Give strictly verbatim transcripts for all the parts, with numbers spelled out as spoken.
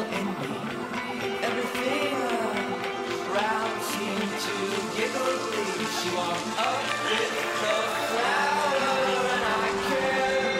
and me. Everything around seemed to giggle glee. She walked up with the flower and I cared.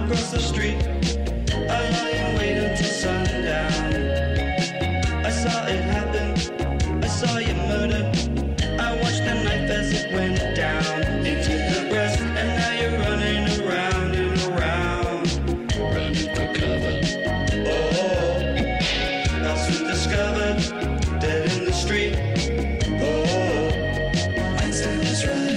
across the street. I lie and wait until sundown. I saw it happen, I saw you murder. I watched the knife as it went down into the breast, and now you're running around and around, running for cover. Oh, I'll soon discover, dead in the street. Oh, Einstein is right.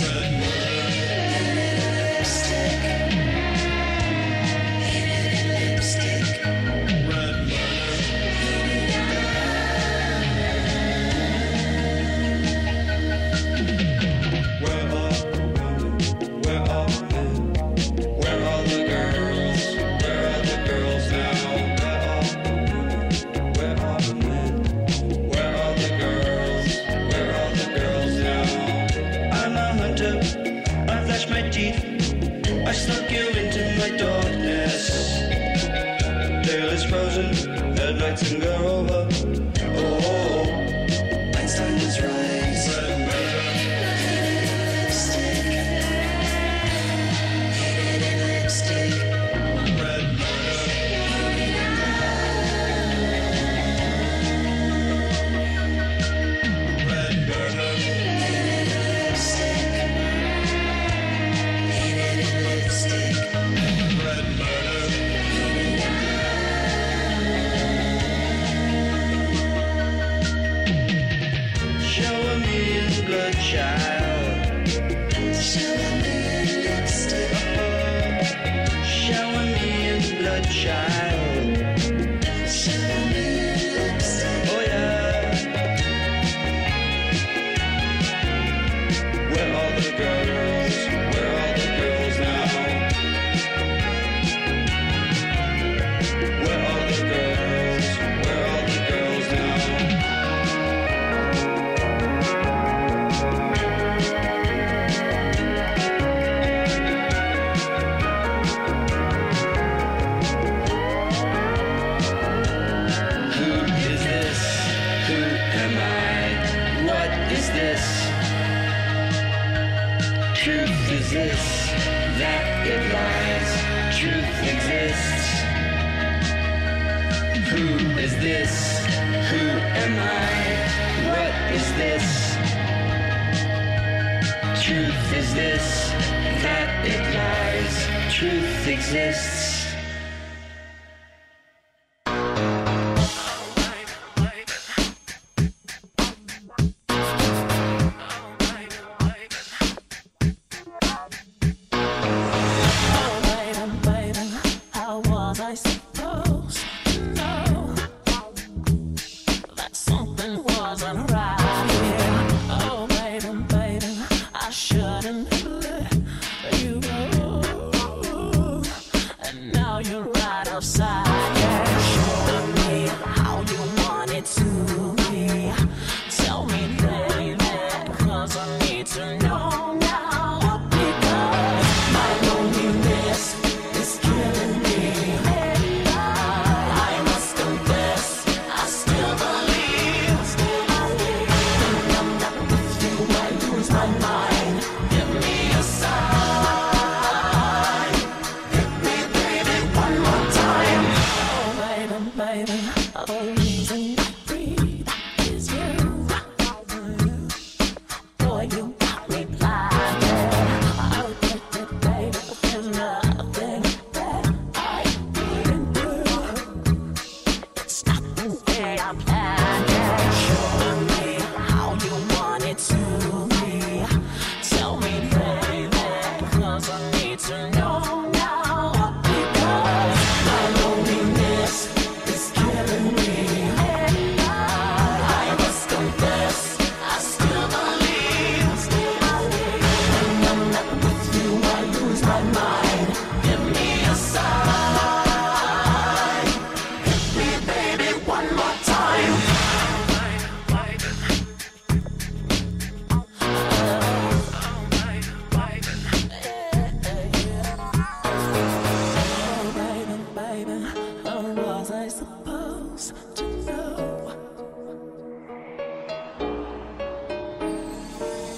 I snuck you into my darkness. Tail is frozen, headlights can go over. Oh, Einstein was right.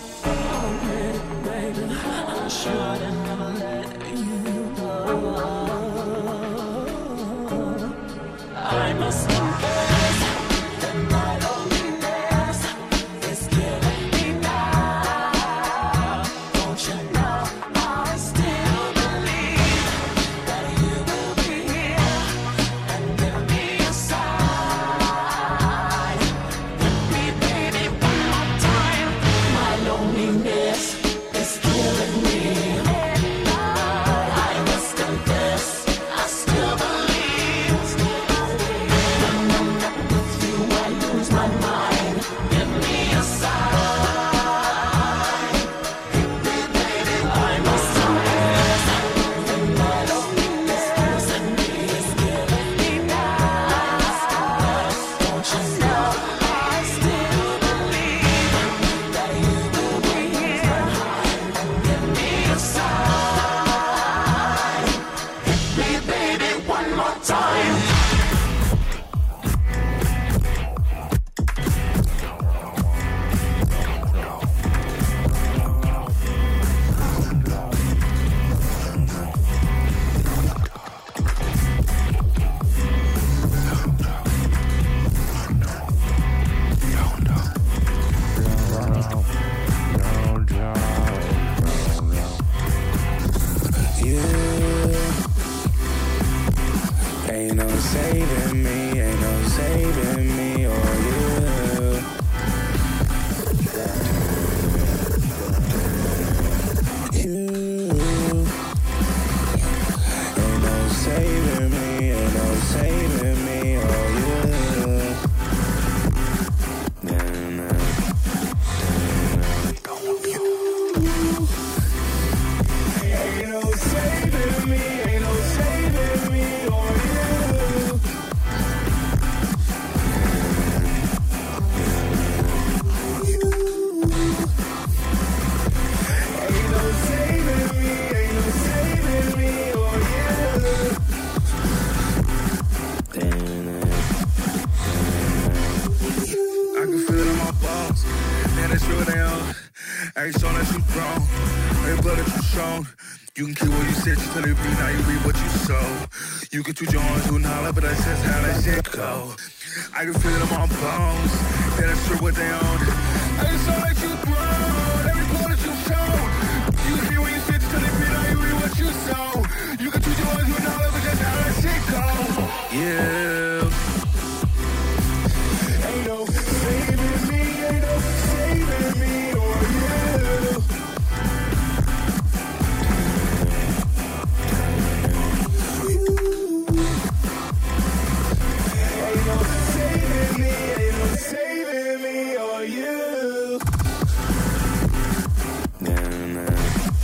should have never let you go. saving me, ain't no saving me or you. You ain't no saving me, ain't no saving me or you. Nah, nah. Ain't no saving me, ain't no saving me or you. Ain't no saving me, ain't no saving me or you. I can feel it in my bones, and it's real down. I ain't shown that you grown, ain't blood that you shown. You can keep what you said, you tell it be, now you reap what you sow. You can tweet your arms, do not but that's just how that shit go. I can feel it in my bones, that it's true what they own. I ain't shown that you grown, every blood that you shown. You can keep what you said, you tell it be, now you reap what you sow. You can tweet your arms, do not but that's how that shit go. Yeah. Ain't no saving me, ain't no saving me or you. Ain't no saving me, ain't no saving me or you. Nah, nah.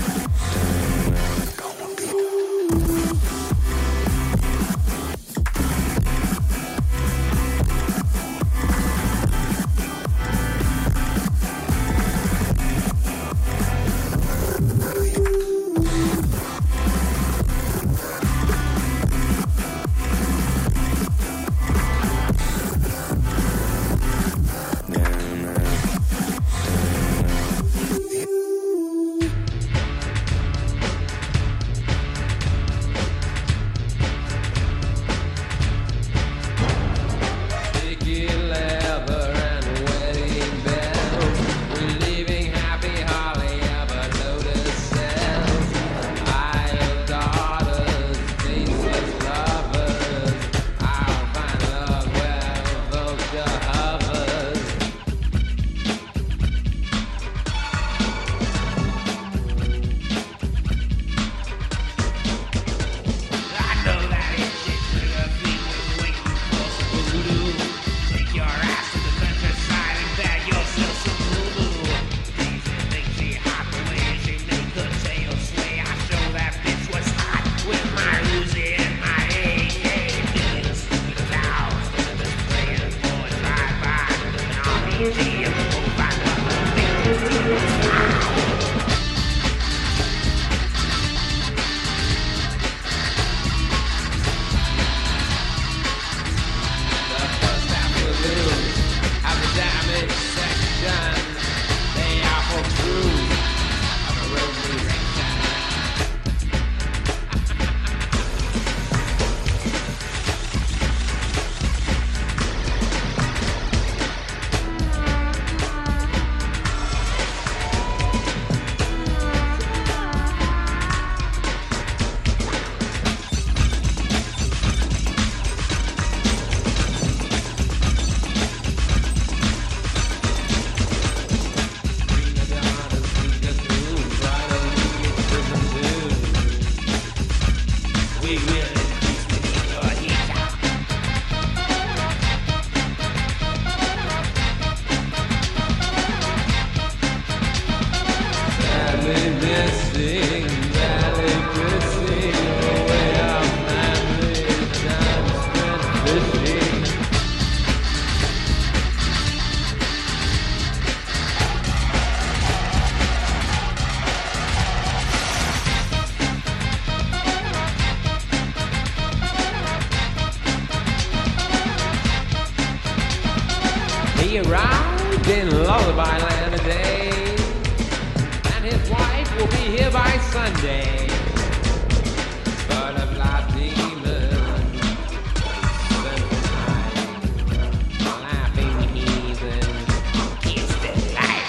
He arrived in Lullaby Land today, and his wife will be here by Sunday. Butterfly demon, laughing heathen, it's the life.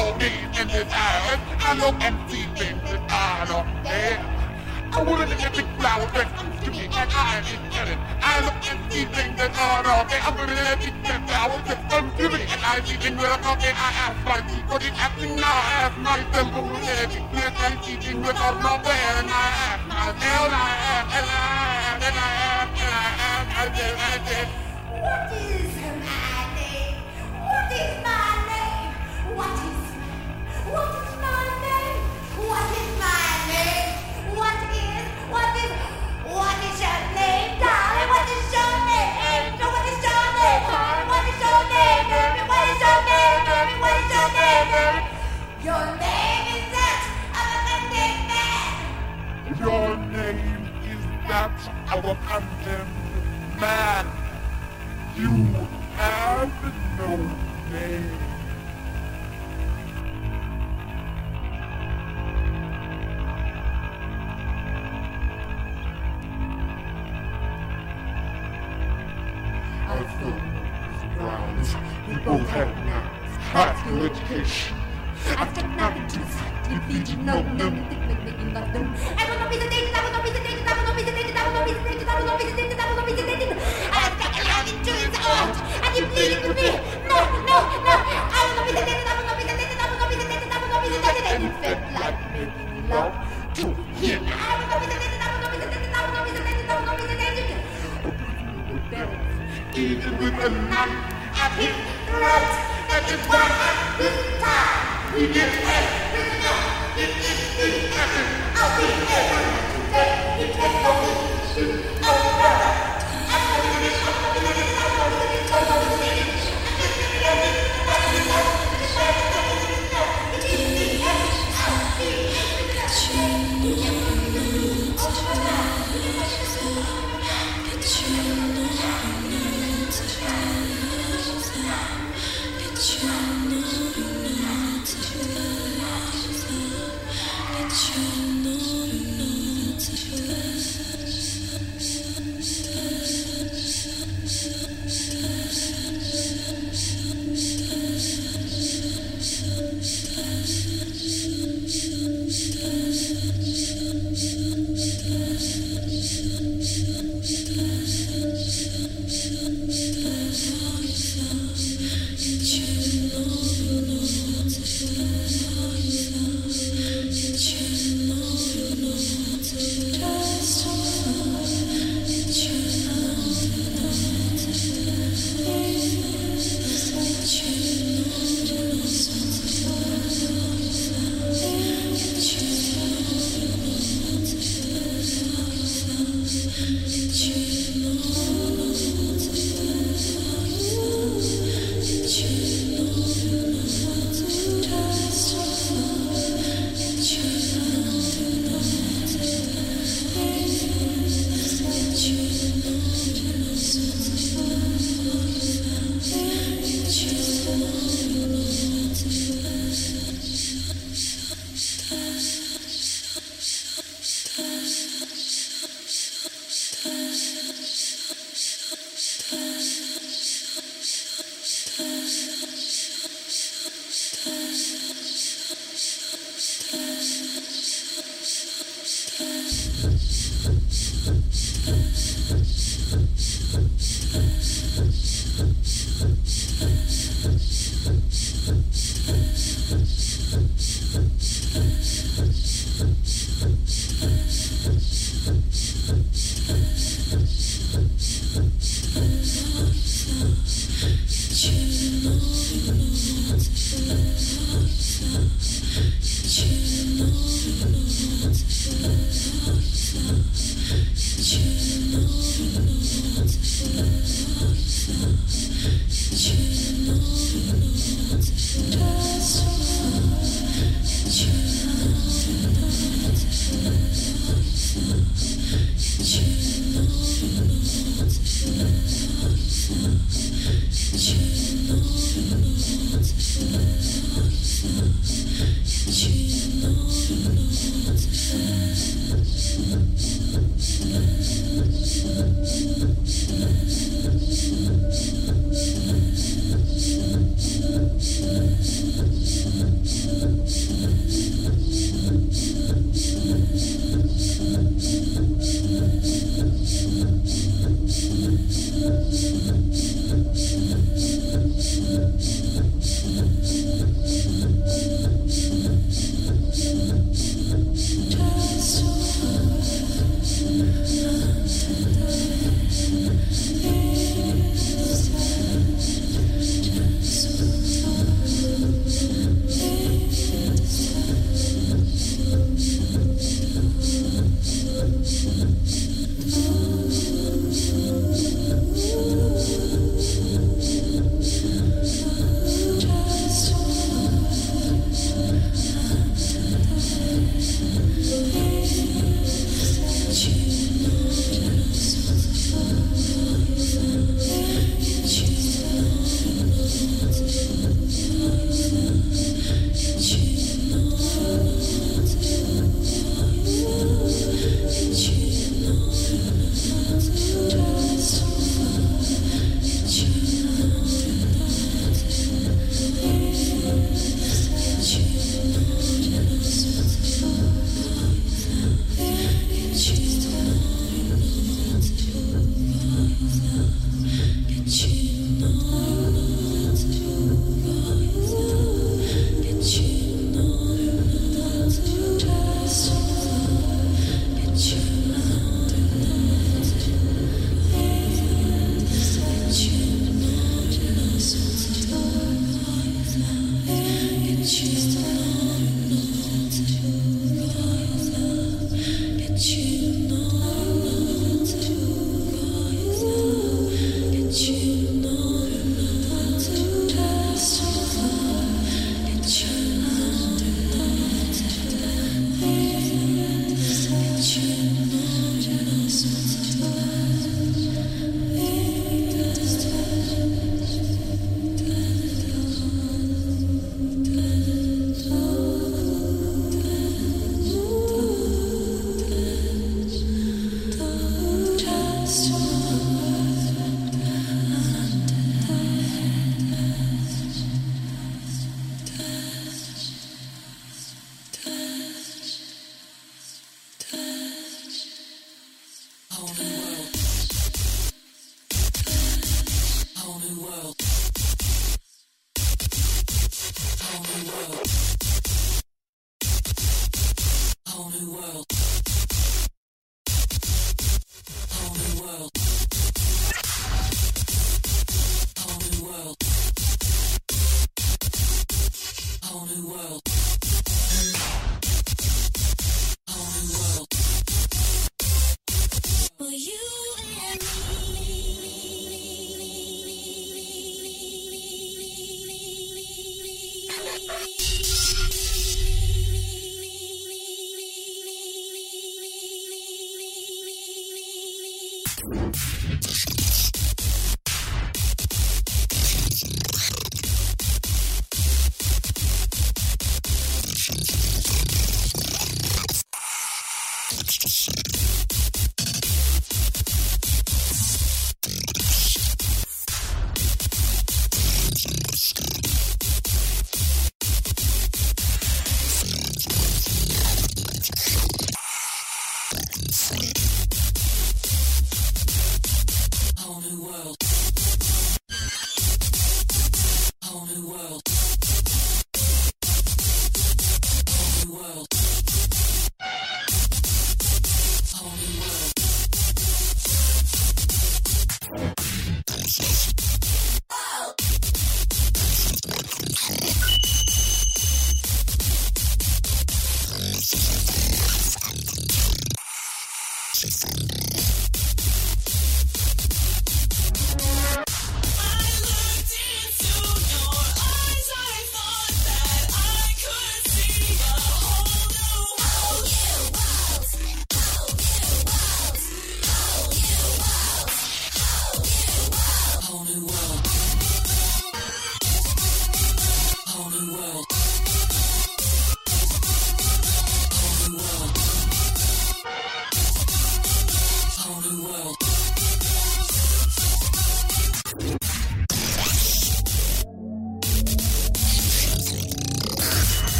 no need in this house. I know empty things that I don't care. I wanted to get big flowers that comes to me and I ain't getting. I know empty things that I don't care. I'm gonna let big flowers that come to me and I see things that I'm not there. I ask my people, it's happening now. I ask myself, I'm gonna let big flowers and see things that I'm not there. And I ask myself, and I ask, and I ask, and I ask, and I ask, I said, I said, what is my name? What is my name? What is, what is my name? What is my name? What is, what is, what is your name, darling? What is your name, angel? What is your name, honey? What is your name, baby? What is your name, baby? What is your name, baby? Your name is that of a condemned man. your name is that of a condemned man. You have no name. Our foes, grounds, we both had mouths, high school education. After nothing to sight, defeated no limit, making of them. I will not be sedated, I will not be sedated, I will not be sedated, I will not be sedated, I will not be sedated, I will not be sedated. I have got a lot into his heart, and you pleaded with me. No, no, no, I will not be sedated, I will not be sedated, I will not be sedated, I will not be sedated. And it felt like making love to him. I will not be sedated, I will not be sedated, I will not be sedated, I will not be sedated. Even with a knife At his throat, that is why this time we get away with no, it is the essence of the effort to take the technology of brother. I'm going to be I'm going to be I'm going to be I'm going to be I'm going to be Whole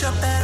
your bed.